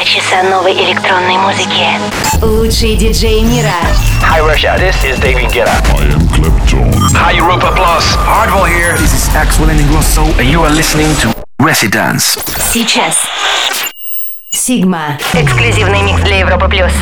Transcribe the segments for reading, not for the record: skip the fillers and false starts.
2 часа новой электронной музыки. Лучшие диджеи мира. Hi Russia, this is David Guetta. I am Clapton. Hi Europa Plus. Hardwell here. This is Axel Ingrosso, and you are listening to Residence. Сейчас. Sigma. Эксклюзивный микс для Европы Плюс.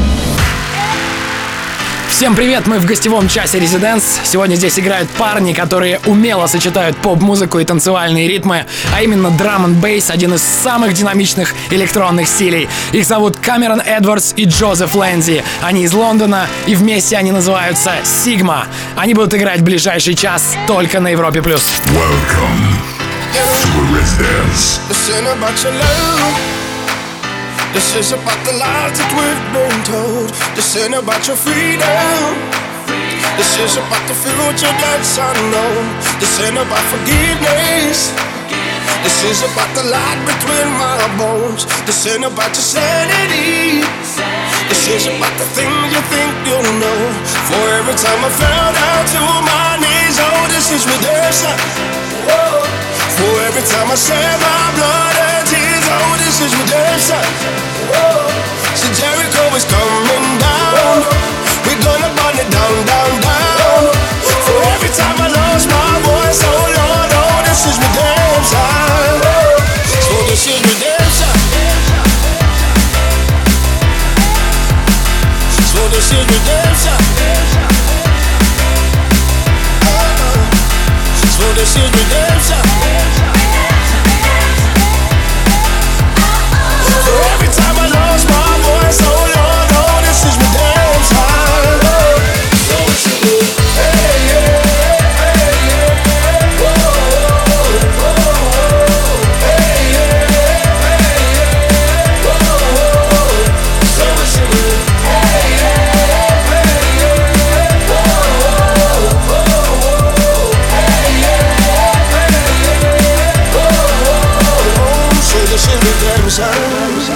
Всем привет, мы в гостевом часе Residence. Сегодня здесь играют парни, которые умело сочетают поп-музыку и танцевальные ритмы, а именно драм н бейс, один из самых динамичных электронных стилей. Их зовут Камерон Эдвардс и Джозеф Лэнзи. Они из Лондона, и вместе они называются Sigma. Они будут играть в ближайший час только на Европе+. Welcome to Residence. This is about the lies that we've been told. This ain't about your freedom. This is about the future that's unknown. This ain't about forgiveness. This is about the light between my bones. This ain't about your sanity. This is about the things you think you know. For every time I fell down to my knees, oh, this is redemption. For every time I shed my blood and tears, oh, this is redemption. So Jericho is coming down. We're gonna burn it down, down, down. For every time I lost my voice, oh Lord, oh, this is redemption. So this is redemption. So this is redemption. So this is redemption. So every time I lost my voice, oh Lord, oh, this is redemption. So it's good. Hey, yeah, hey, yeah. Whoa, whoa, hey, yeah, hey, yeah. Whoa, so it's good. Hey, yeah, hey, yeah. Whoa, hey, yeah, hey, yeah. Whoa, so this is redemption.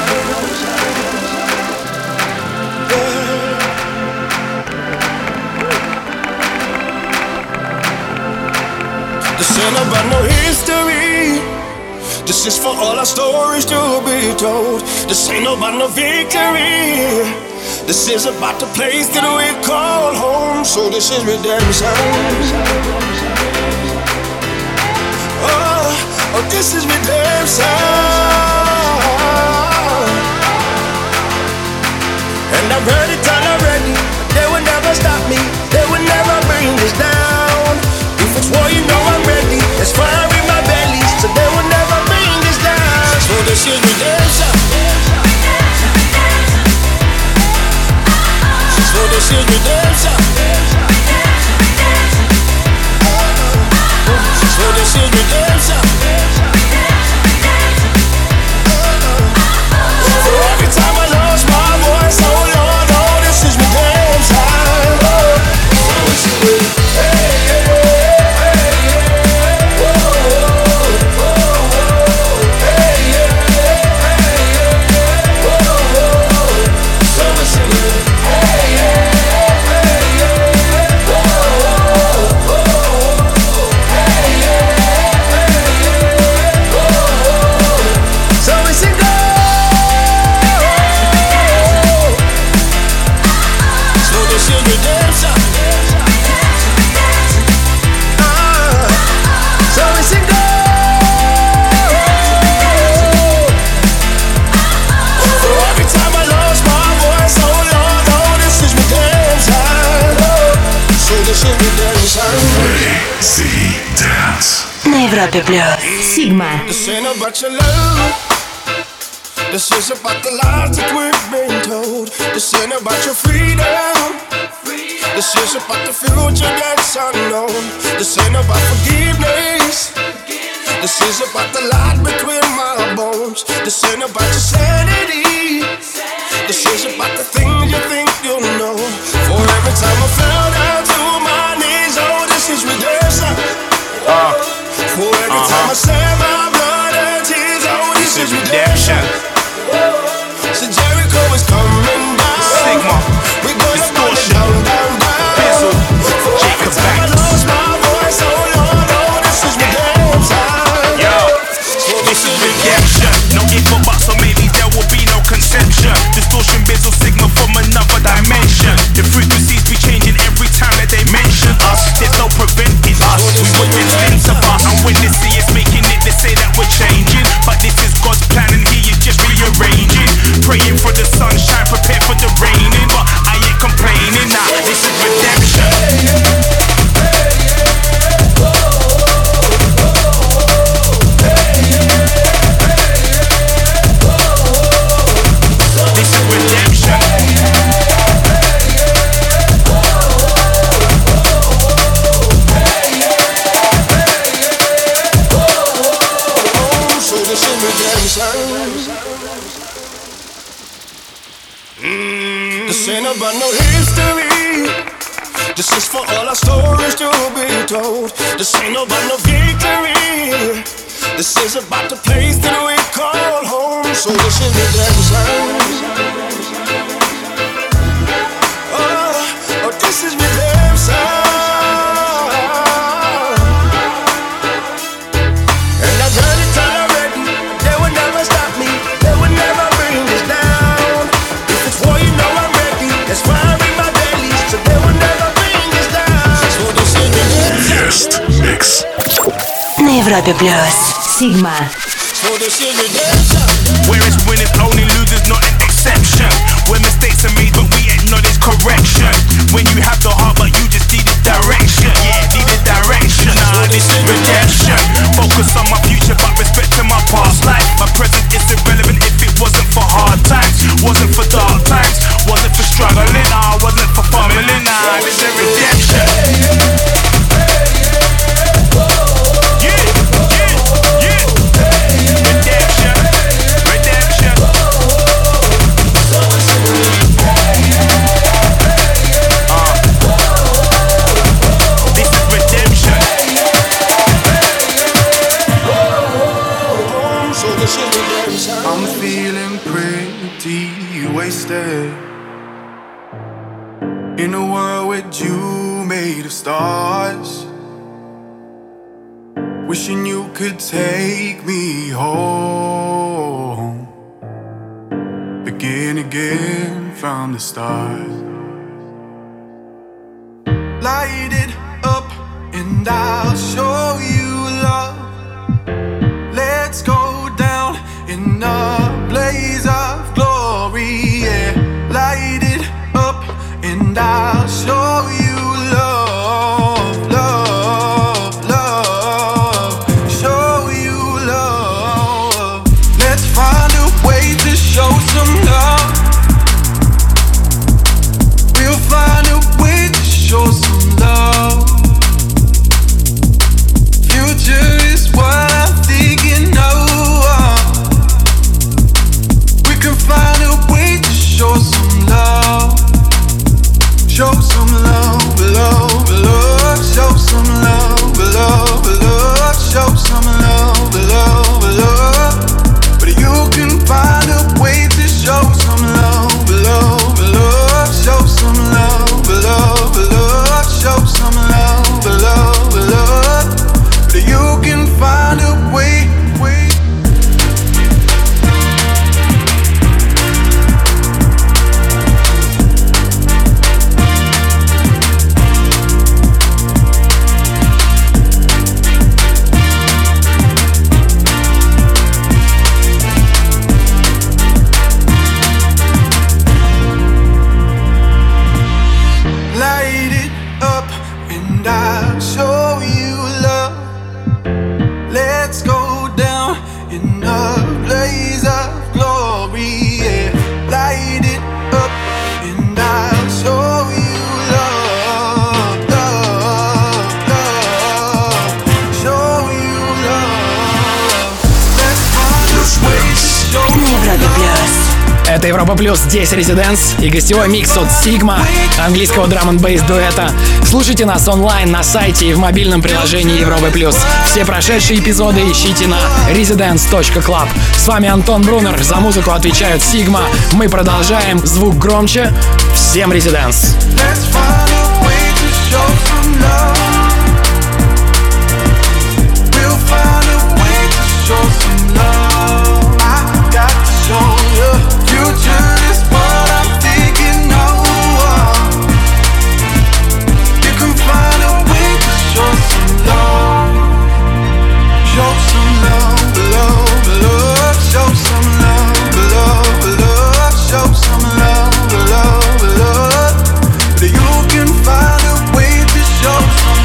This ain't about no history. This is for all our stories to be told. This ain't about no victory. This is about the place that we call home. So this is redemption. Oh, this is redemption. And I'm ready till I'm ready. They will never stop me. They will never bring this down. If it's war, you know I'm ready. There's fire in my belly, so they will never bring this down. So this is redemption. So this is redemption. So this is redemption. So every time I lost my voice, oh Lord, oh, this is redemption. So it's good. Hey, yeah. На Европе Плюс. Sigma. This ain't about your love. This is about the lies that we've been told. This ain't about your freedom. This is about the future that's unknown. This ain't about forgiveness. This is about the light between my bones. This ain't about your sanity. This is about the things you think you know. For every time I fell down to my knees, oh, this is redemption. For every time I shed my blood and tears, oh, this is redemption. So Jericho is coming down. Sigma. We're gonna burn it down, down, down. For every time I lost my voice, oh Lord, oh, this is redemption. Yo, So this is redemption. No if or buts, so maybe there will be no about no history. This is for all our stories to be told. This ain't about no victory. This is about the place that we call home. So this is the damn sound. Oh, this is the damn sound. And I've heard it all already. They would never stop me. They would never bring this down. If it's war, you know I'm ready. That's fire in my belly. So they would never bring this down. So this is the damn sound. Guest mix. На Европе Плюс. Sigma. So this is the damn sound. Where it's winners, only losers, not an exception. Where mistakes are made, but we acknowledge correction. When you have the heart, but you just need a direction. Yeah, need a direction. Nah, this is redemption. Focus on my future, but respecting my past life. My present is irrelevant if it wasn't for hard times, wasn't for dark times, wasn't for struggling, nah, wasn't for fumbling. Nah, this is redemption. I'm feeling pretty wasted in a world with you made of stars. Wishing you could take me home. Begin again from the start. Light it up and I'll show you love. Let's go down in a blaze of glory, yeah. Light it up and I'll show you love, love, love. Show you love. Let's find a way to show some love. We'll find a way to show some love. Future is what I'm thinking of. We can find a way to show some love. Show some love, love, love. Show some love, love, love. Show some love, love, love. But you can find a way to show some love, love, love. Show some love, love, love. Show some love, love, love. But you can find a way. Light it up and I'll show you love. Let's go down in a blaze of glory, yeah. Light it up and I'll show you love, love, love. Show you love. Let's find a way to show На Европе Плюс. Это Европа Плюс, здесь Residence и гостевой микс от Sigma, английского драм-н-бейс дуэта. Слушайте нас онлайн на сайте и в мобильном приложении Европы Плюс. Все прошедшие эпизоды ищите на residence.club. С вами Антон Брунер, за музыку отвечают Sigma. Мы продолжаем, звук громче. Всем Residence! Let's find a way to show some love. We'll find a way to show some love. I got to show you. Future is what I'm thinking of. You can find a way to show some love. Show some love, love, love. Show some love, love, love. Show some love, love, love. But you can find a way to show some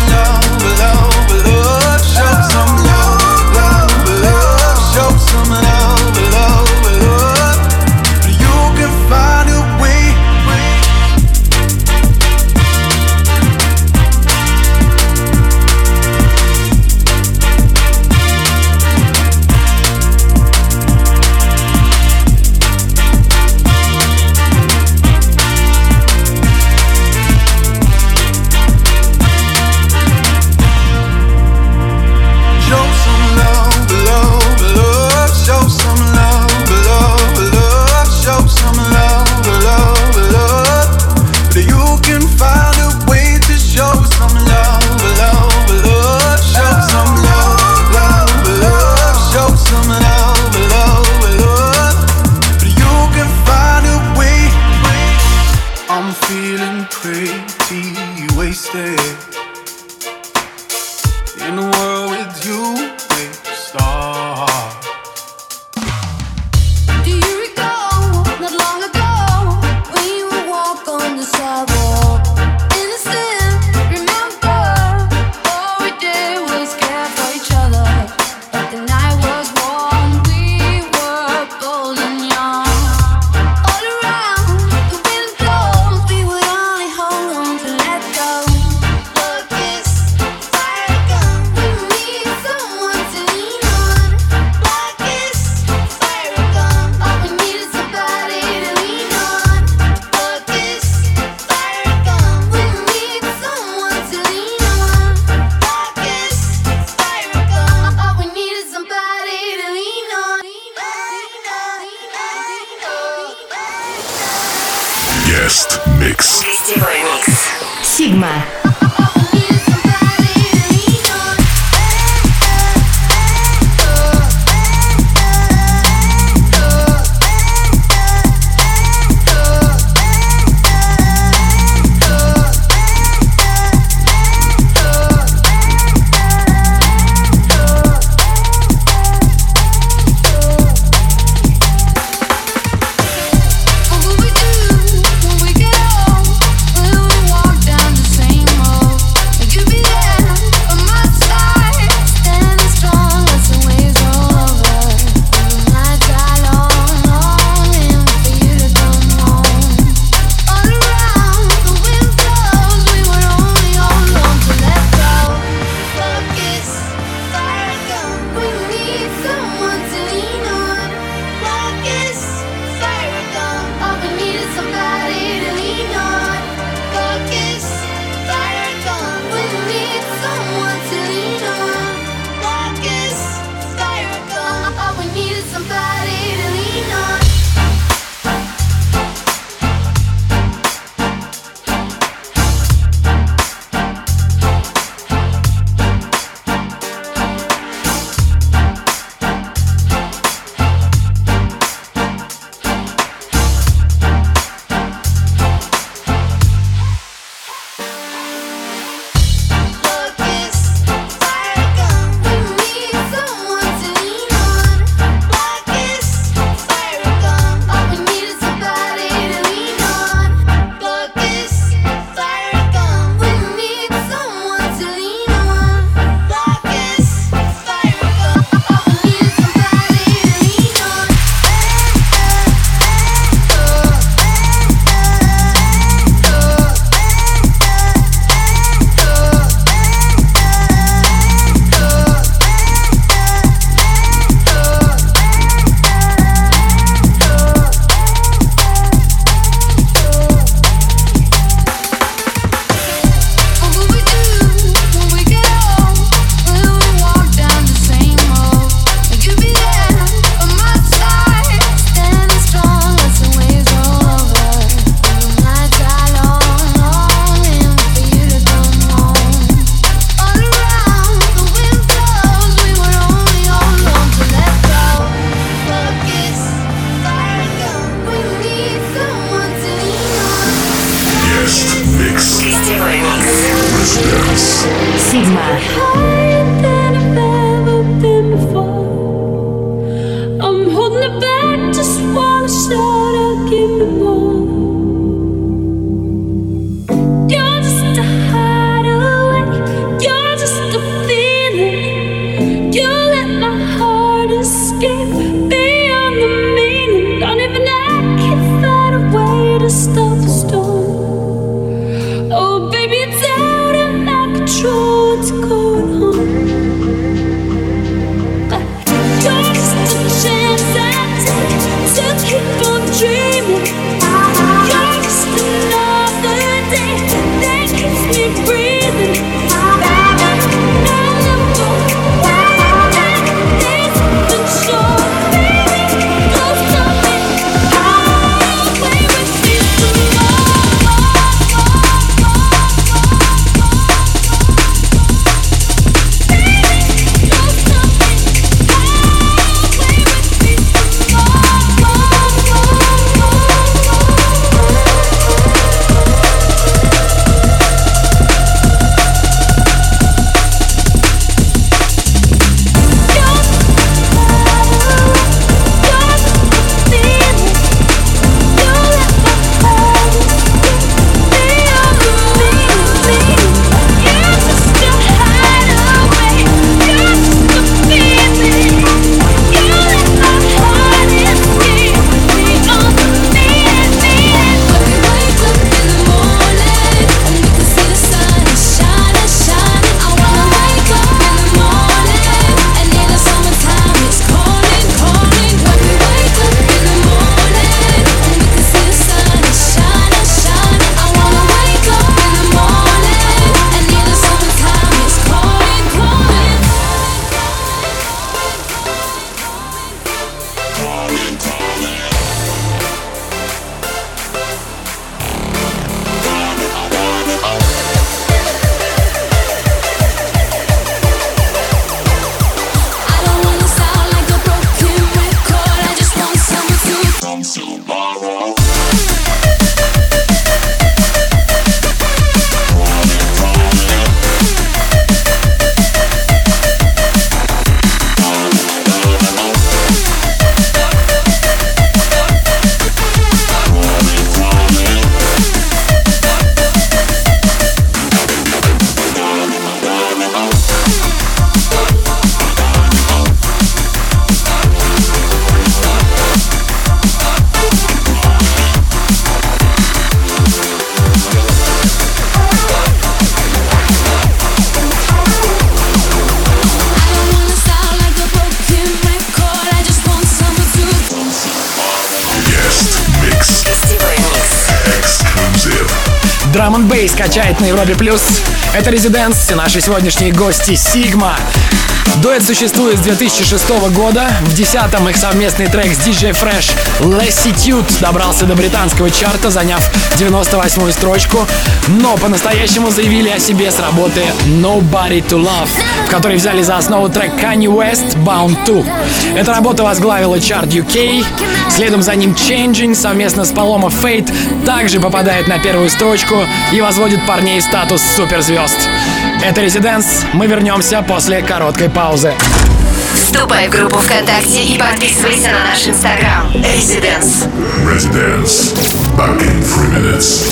Sigma. Drum and Bass качает на Европе+. Это Residents и наши сегодняшние гости Sigma. Дуэт существует с 2006 года. В 10-м их совместный трек с DJ Fresh Lassitude добрался до британского чарта, заняв 98-ю строчку. Но по-настоящему заявили о себе с работы Nobody to Love, в которой взяли за основу трек Kanye West Bound To. Эта работа возглавила чарт UK. Следом за ним Changing совместно с Paloma Fate также попадает на первую строчку и возводит парней в статус суперзвезд. Это Residents. Мы вернемся после короткой паузы. Вступай в группу ВКонтакте и подписывайся на наш Инстаграм. Residents. Residents. Back in 3 minutes.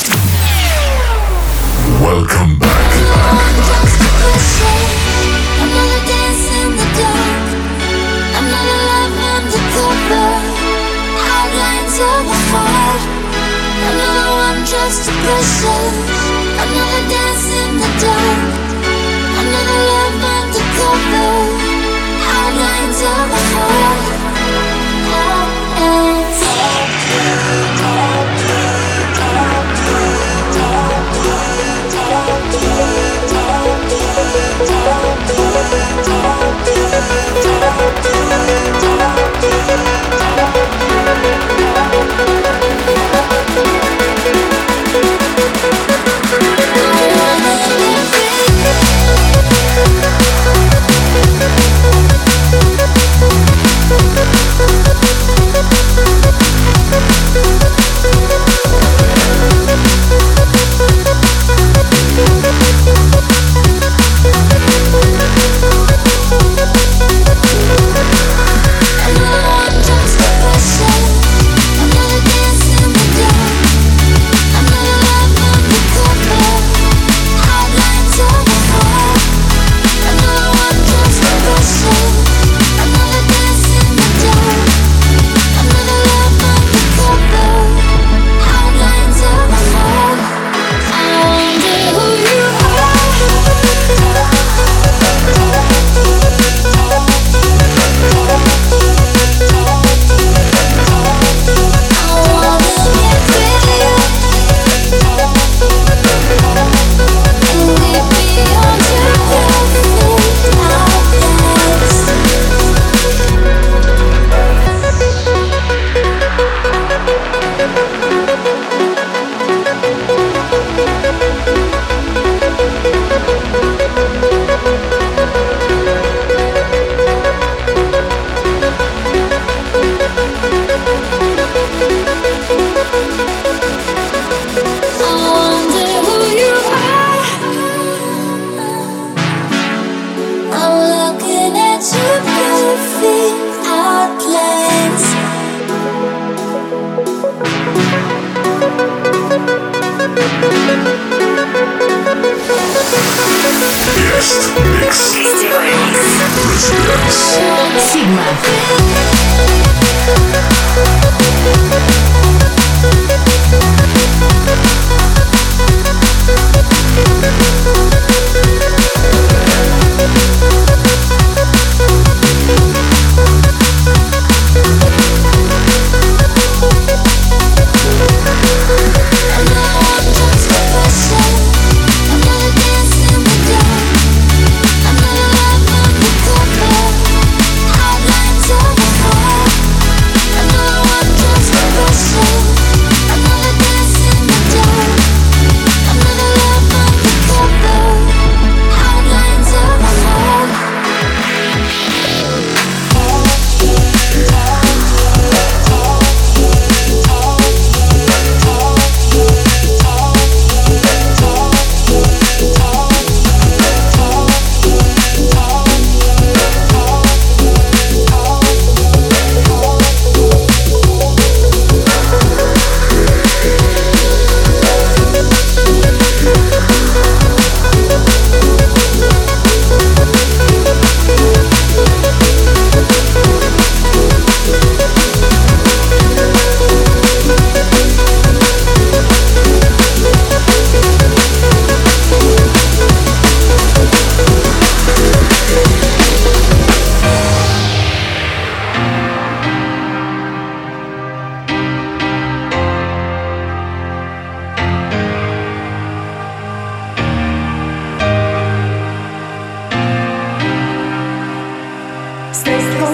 Welcome back. Just a pressure, another dance in the dark, another love undercover, outlines of a heart. Outlines of a heart.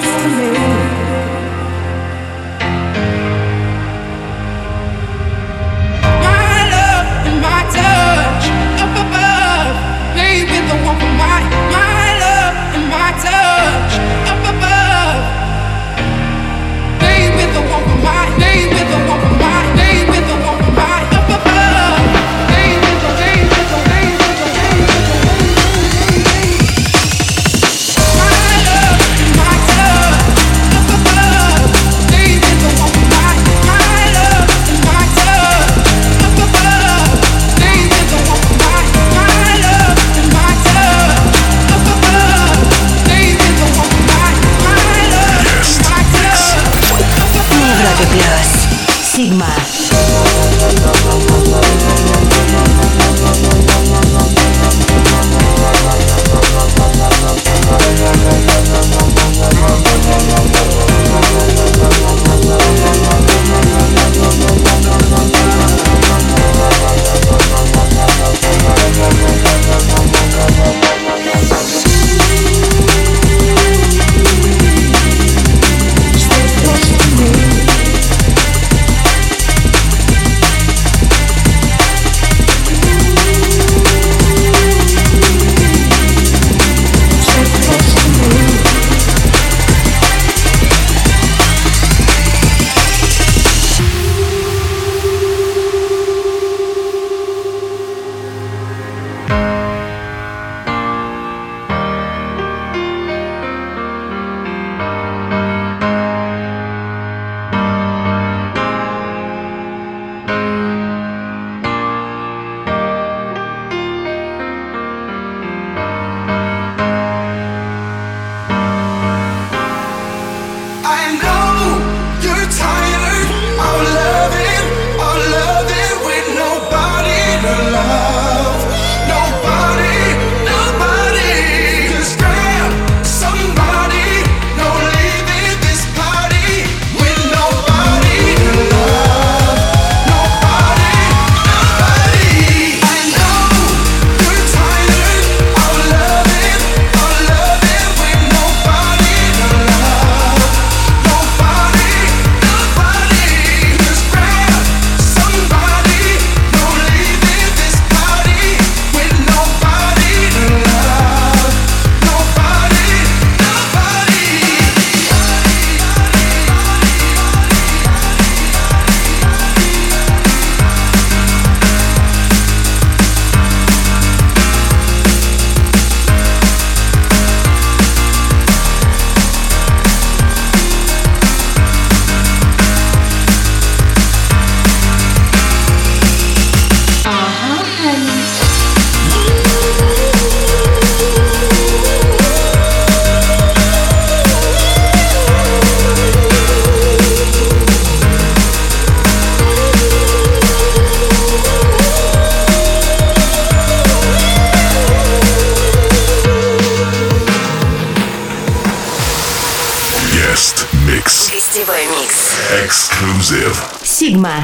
Exclusive. Sigma.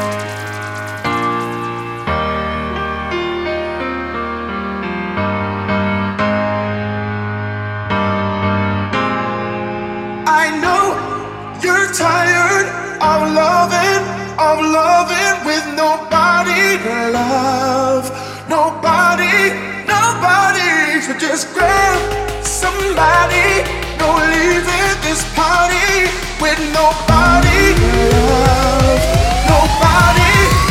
I know you're tired of loving with nobody to love. Nobody. So just grab somebody. No leaving this party with nobody to love. Nobody.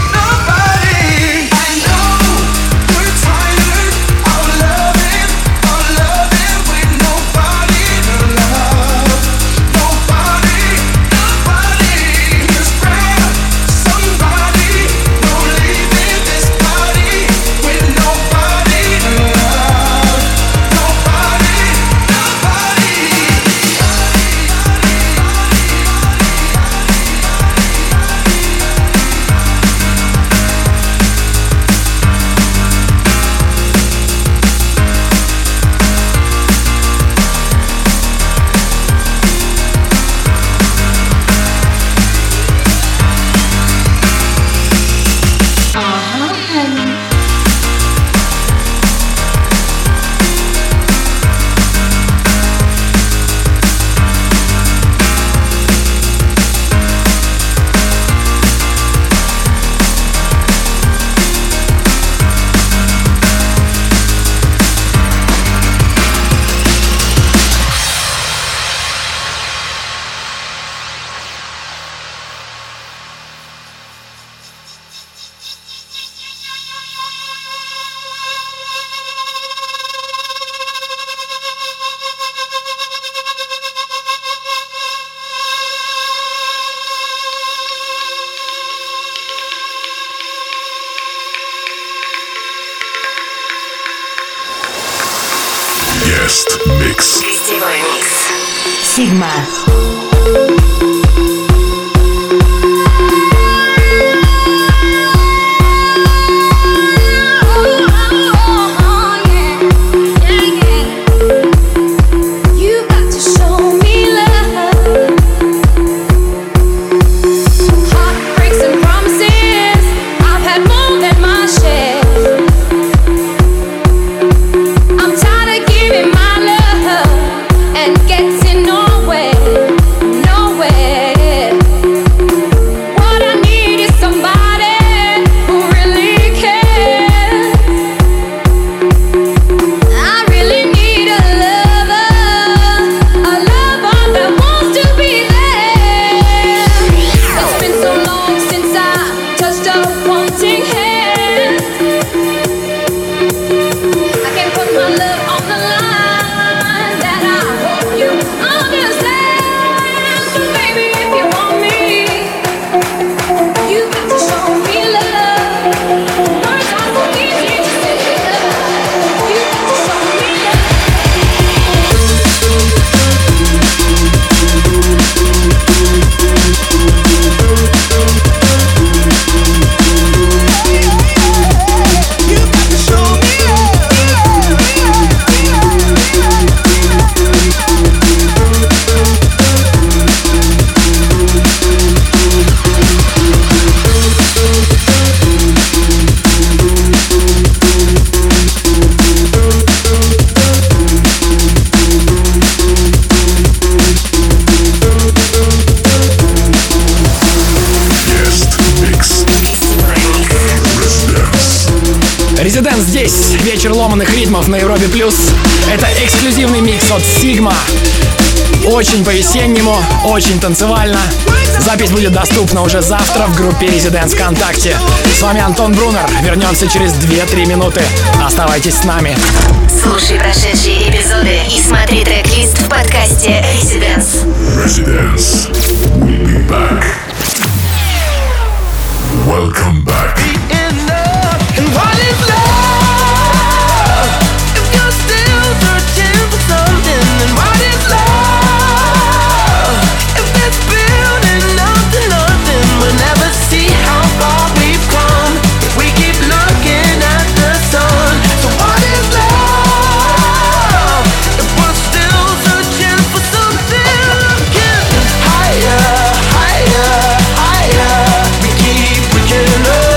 I know you're tired of loving with nobody to love. Nobody. Just grab somebody. No leaving this party with nobody to love. Nobody. Guest Mix. Гостевой микс. Sigma. Getting nowhere. Residence здесь. Вечер ломаных ритмов на Европе Плюс. Это эксклюзивный микс от Sigma. Очень по-весеннему, очень танцевально. Запись будет доступна уже завтра в группе Residence ВКонтакте. С вами Антон Брунер. Вернемся через 2-3 минуты. Оставайтесь с нами. Слушай прошедшие эпизоды и смотри трек-лист в подкасте Residence. Residence. We'll be back. Welcome back. And what is love? If you're still searching for something, then what is love? If it's building up to nothing, we'll never see how far we've come if we keep looking at the sun. So what is love? If we're still searching for something, looking higher, higher, higher, we keep reaching up.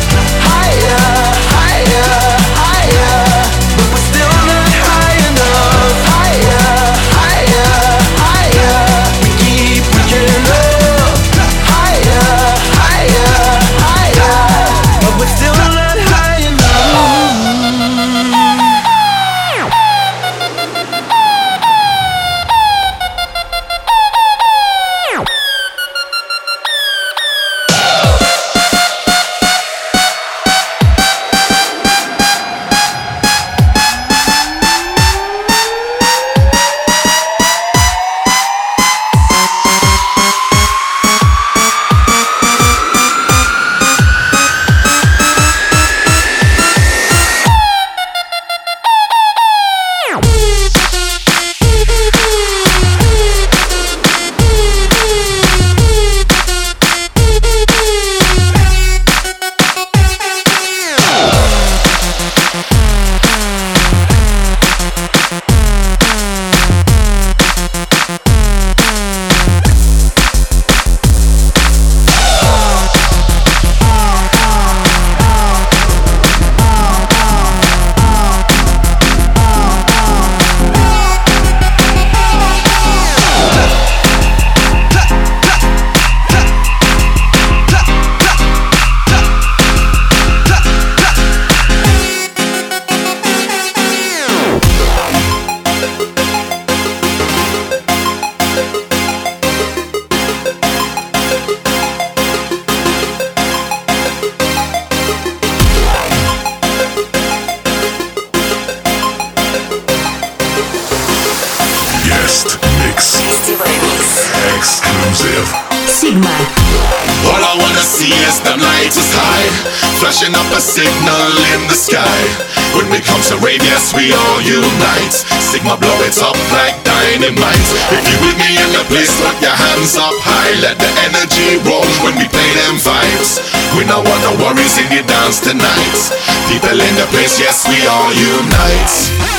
Sigma. All I wanna see is them lighters high, flashing up a signal in the sky. When we come to rave, yes, we all unite. Sigma blow it up like dynamite. If you with me in the place, put your hands up high. Let the energy roll when we play them vibes. We don't want no worries in the dance tonight. People in the place, yes, we all unite.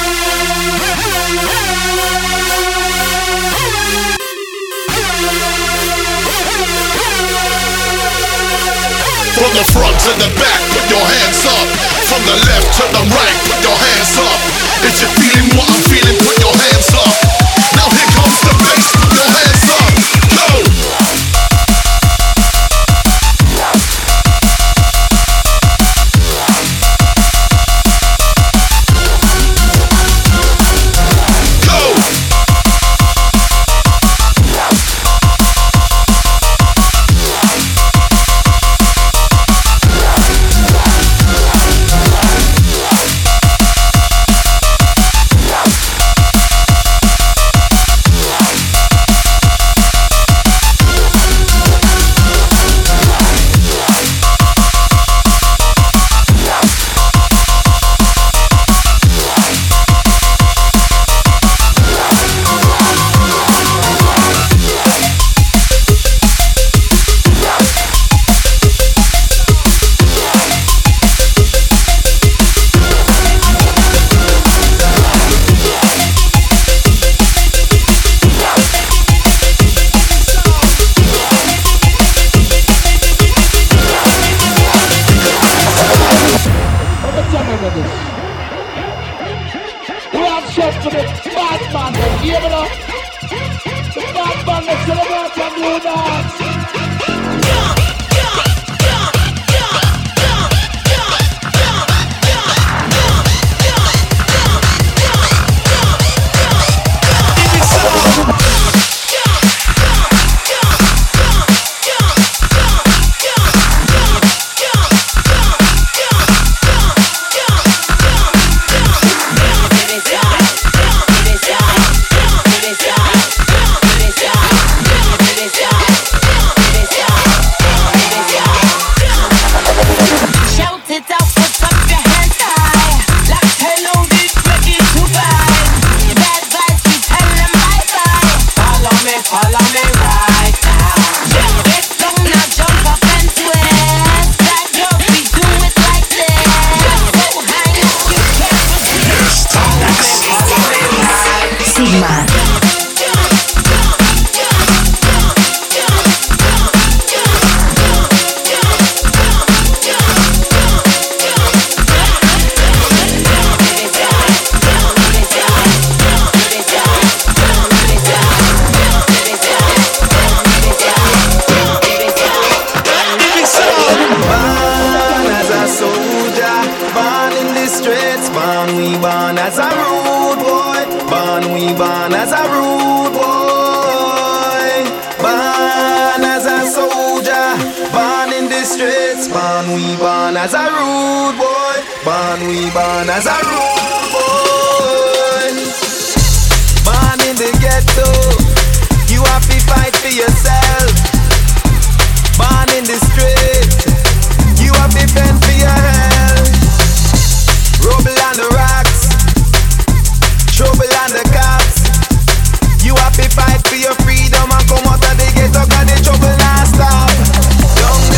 From the front to the back, put your hands up. From the left to the right, put your hands up. If you're feeling what I'm feeling, put your hands up. Now here comes the bass, put your hands up. Go!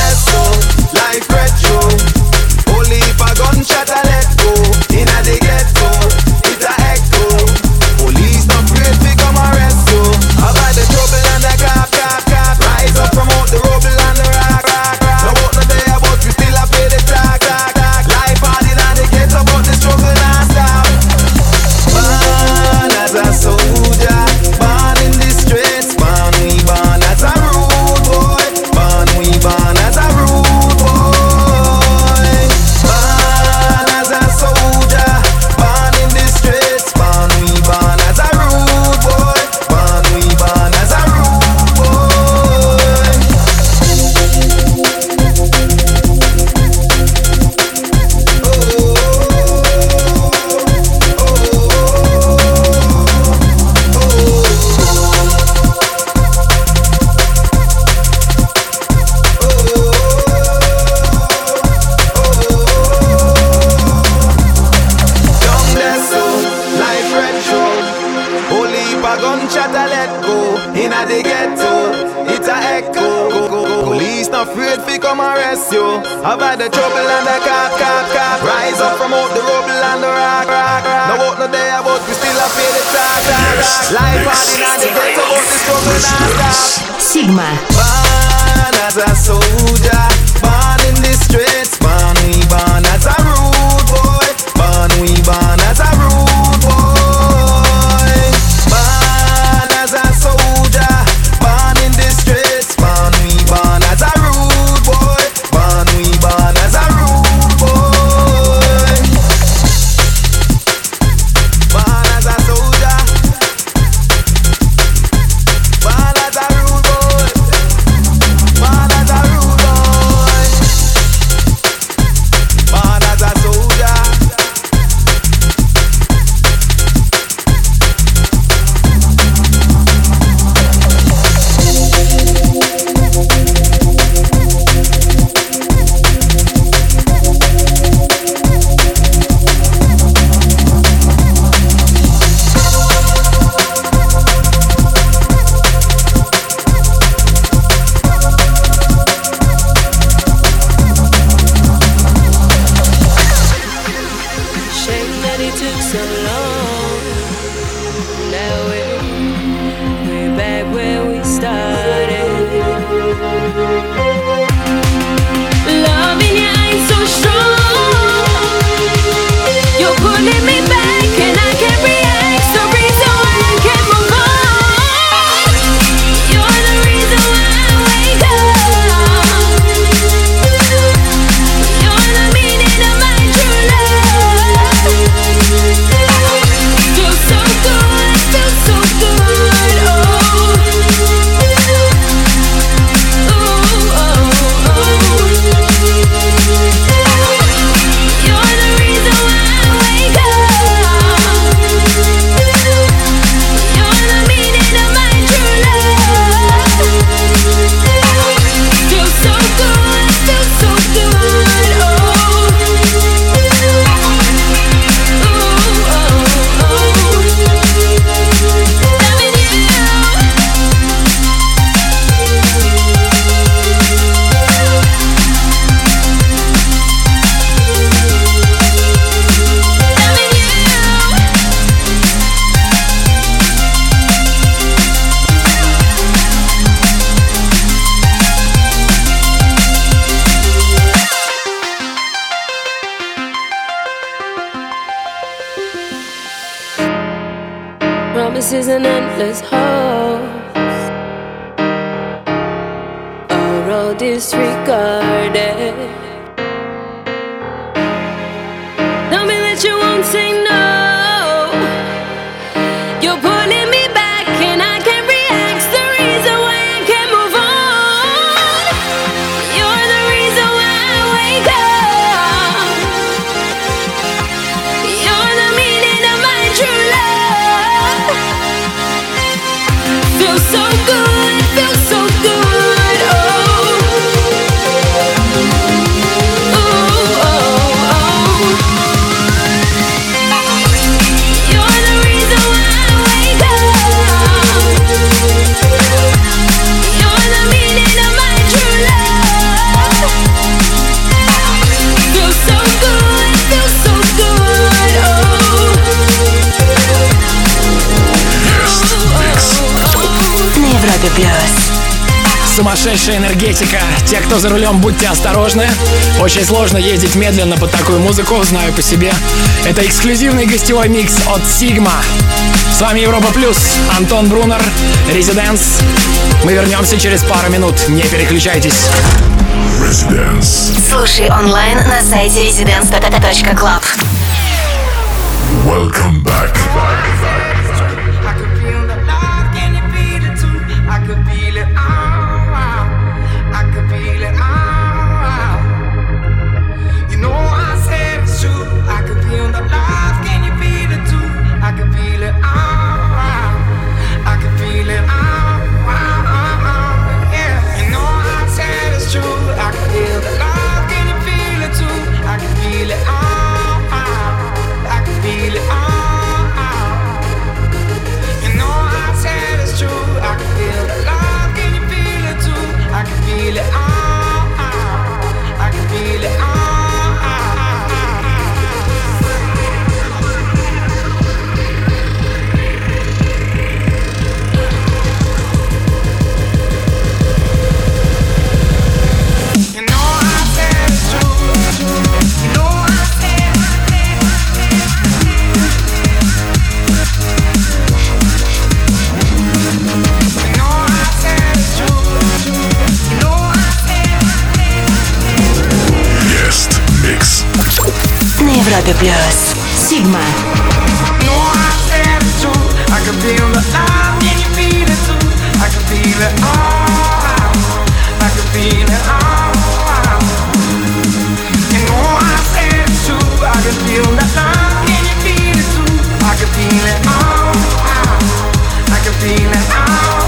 Life retro, only if a gunshot I let go. Inna the ghetto. gunshot I let go. Inna the ghetto, it's a echo. Police not afraid fi come arrest you. I've had the trouble and the cop. Rise up from out the rubble and the rock. No out no day but we still a pay the tax. Life hard inna the ghetto but the struggle not stop. Sigma. Born as a soldier, born in the streets. Born as a rude boy. Born as a rude boy. Born as a soldier, born in the streets. Born as a rude boy. Born as a rude boy. Born as a soldier, born as a rude boy. Born as a rude boy. Born as a soldier. Promises and endless hopes are all disregarded. Tell me that you won't say no. You're pulling me back and I can't react. The reason why I can't move on. You're the reason why I wake up. You're the meaning of my true love. Feels so good, feels so good, oh. Ooh, oh, oh. You're the reason why I wake up. You're the meaning of my true love. Feels so good, oh. На Европе Плюс. Сумасшедшая энергетика. Те, кто за рулем, будьте осторожны. Очень сложно ездить медленно под такую музыку, знаю по себе. Это эксклюзивный гостевой микс от Sigma. С вами Европа Плюс, Антон Брунер, Residence. Мы вернемся через пару минут. Не переключайтесь. Residence. Слушай онлайн на сайте residence.club. Welcome back. I can feel it. Radio Plus. Sigma. No, I said it's true. I can feel the love, can you feel it too? I can feel it all. I can feel it all. You know I said it's true. I can feel the love, can you feel it too? I can feel it all. I can feel it all.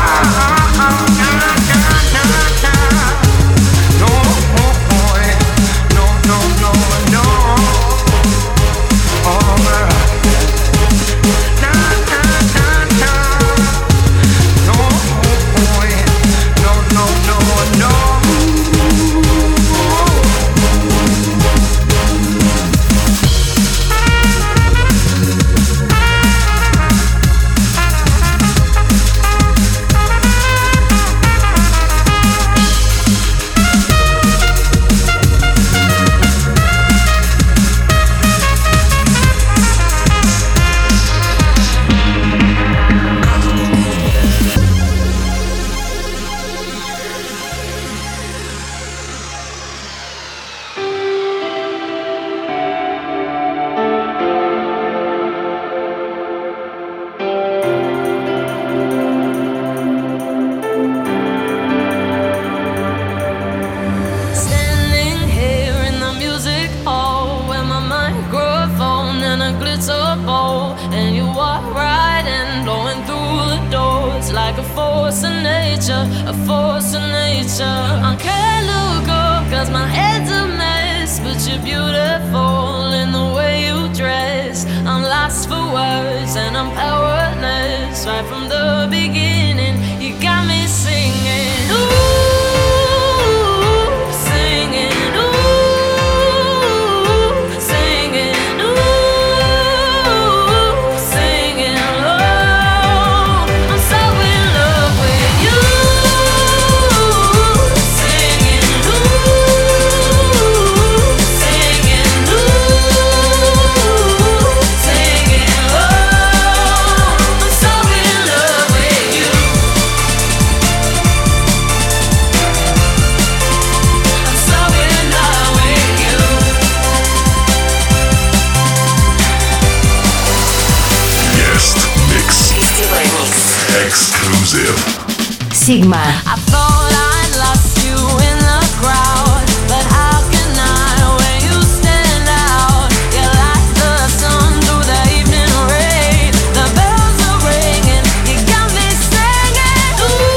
Sigma. I thought I'd lost you in the crowd, but how can I when you stand out? You're like the sun through the evening rain. The bells are ringing, you got me singing,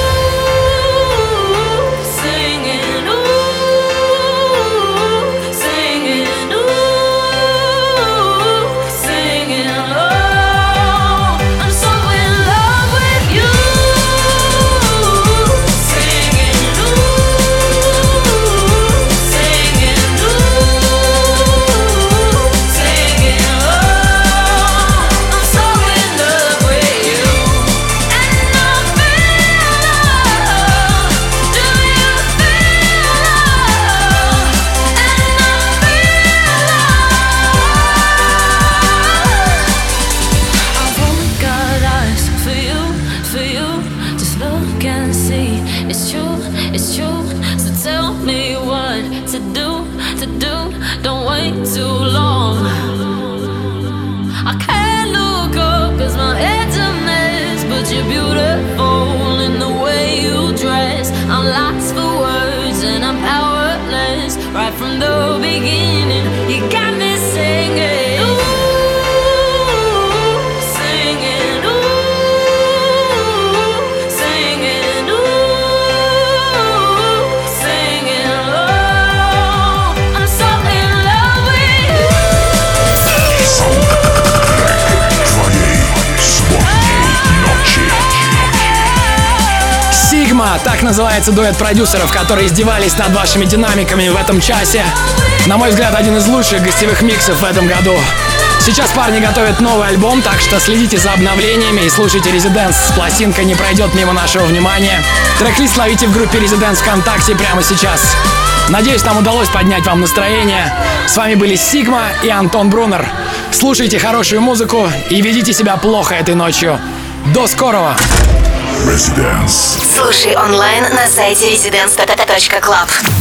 ooh, singing, ooh, singing, ooh, singing, oh, I'm so in love with you. Right from the beginning, you got me singing, ooh, singing, ooh, singing, ooh, singing, oh, I'm so in love with you. Sigma, так называется дуэт продюсеров, которые издевались над вашими динамиками в этом часе. На мой взгляд, один из лучших гостевых миксов в этом году. Сейчас парни готовят новый альбом, так что следите за обновлениями и слушайте Residence. Пластинка не пройдет мимо нашего внимания. Трек-лист ловите в группе Residence ВКонтакте прямо сейчас. Надеюсь, нам удалось поднять вам настроение. С вами были Sigma и Антон Брунер. Слушайте хорошую музыку и ведите себя плохо этой ночью. До скорого! Residence. Слушай онлайн на сайте residence.club.